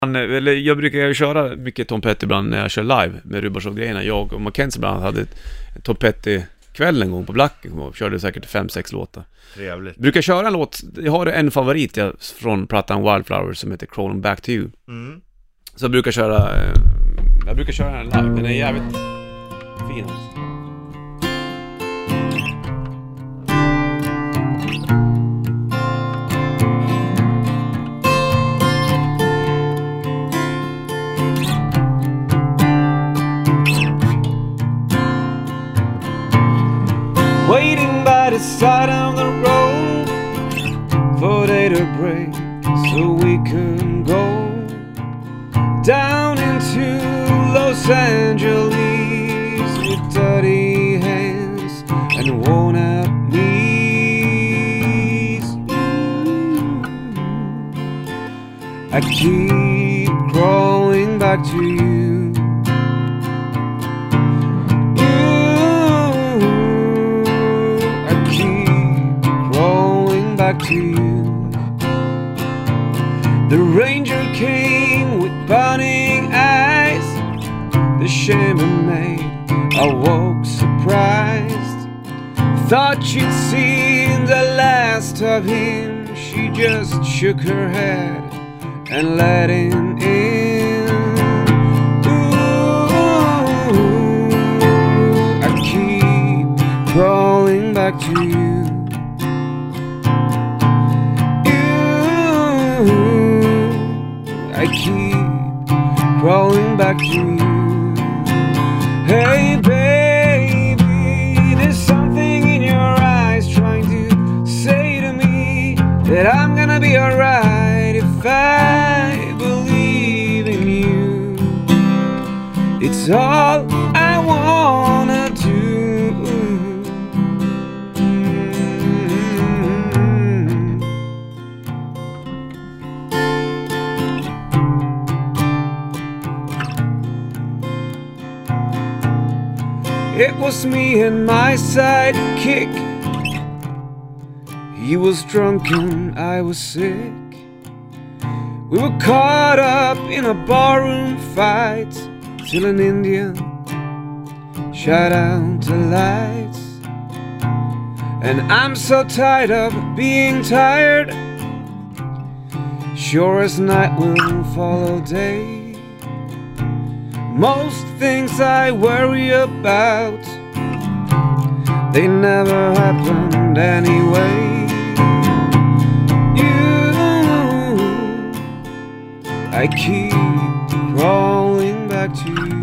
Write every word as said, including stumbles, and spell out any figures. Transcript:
Han, eller jag brukar ju köra mycket Tom Petty ibland när jag kör live med Rubarsov-grejerna. Jag och Mackenzie ibland hade ett Tom Petty-kväll en gång på Blacken och körde säkert fem sex låtar. Trevligt. Brukar köra en låt, jag har en favorit jag, från plattan Wildflowers som heter Crawling Back to You. Mm. Så jag brukar köra, eh, jag brukar köra den live, den är jävligt fin alltså. Waiting by the side of the road for day to break so we can go down into Los Angeles with dirty hands and worn out knees. I keep crawling back to you. Back to you. The ranger came with burning eyes. The chambermaid awoke surprised. Thought she'd seen the last of him. She just shook her head and let him in. Ooh, I keep crawling back to you. I keep crawling back to you. Hey baby, there's something in your eyes trying to say to me that I'm gonna be alright if I believe in you. It's all I wanna do. It was me and my sidekick. He was drunk and I was sick. We were caught up in a barroom fight till an Indian shot out the lights. And I'm so tired of being tired. Sure as night will follow day. Most things I worry about, they never happened anyway. You, I keep crawling back to you.